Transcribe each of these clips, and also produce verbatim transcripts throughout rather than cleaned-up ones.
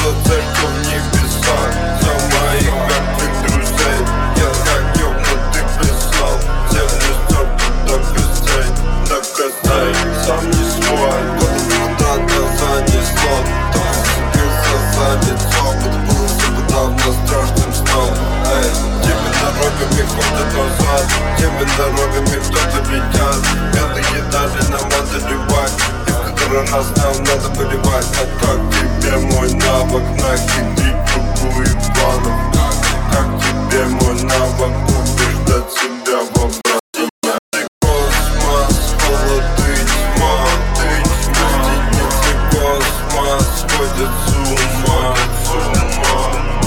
за церковь в небесах, за моих мертвых друзей. Я как ёбнутый писал, землю стёрту до костей, до костей. Сам не свой, куда-то занесло, кто зацепился за лицо, будто было все подавно страшным сном. Эй, теми дорогами ходят назад, теми дорогами кто-то ведет. Белые дали нам одолевать, и в который раз нам надо поливать. А как тебе мой навык нахитрить другую планов? Как тебе мой навык убеждать себя в обратном? Космос, холод и тьма, гостиницы космос сходят с ума, с ума.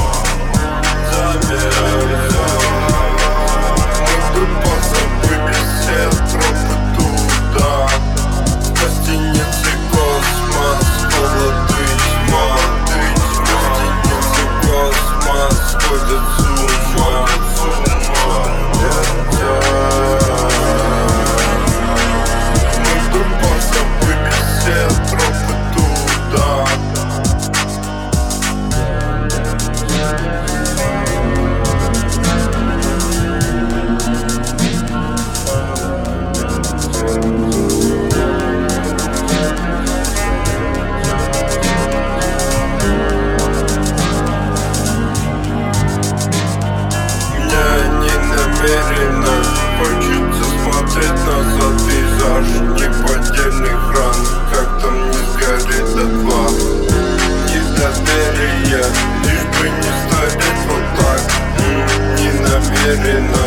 Мы тупо забыли все тропы туда. Гостиницы космос, холод и тьма, гостиницы космос сходят с ума, с ума. Мы тупо забыли все тропы туда. Хочется смотреть назад, пейзаж неподдельных ран. Как там не сгорит дотла недоверие, лишь бы не стареть вот так. М-м, не намеренно.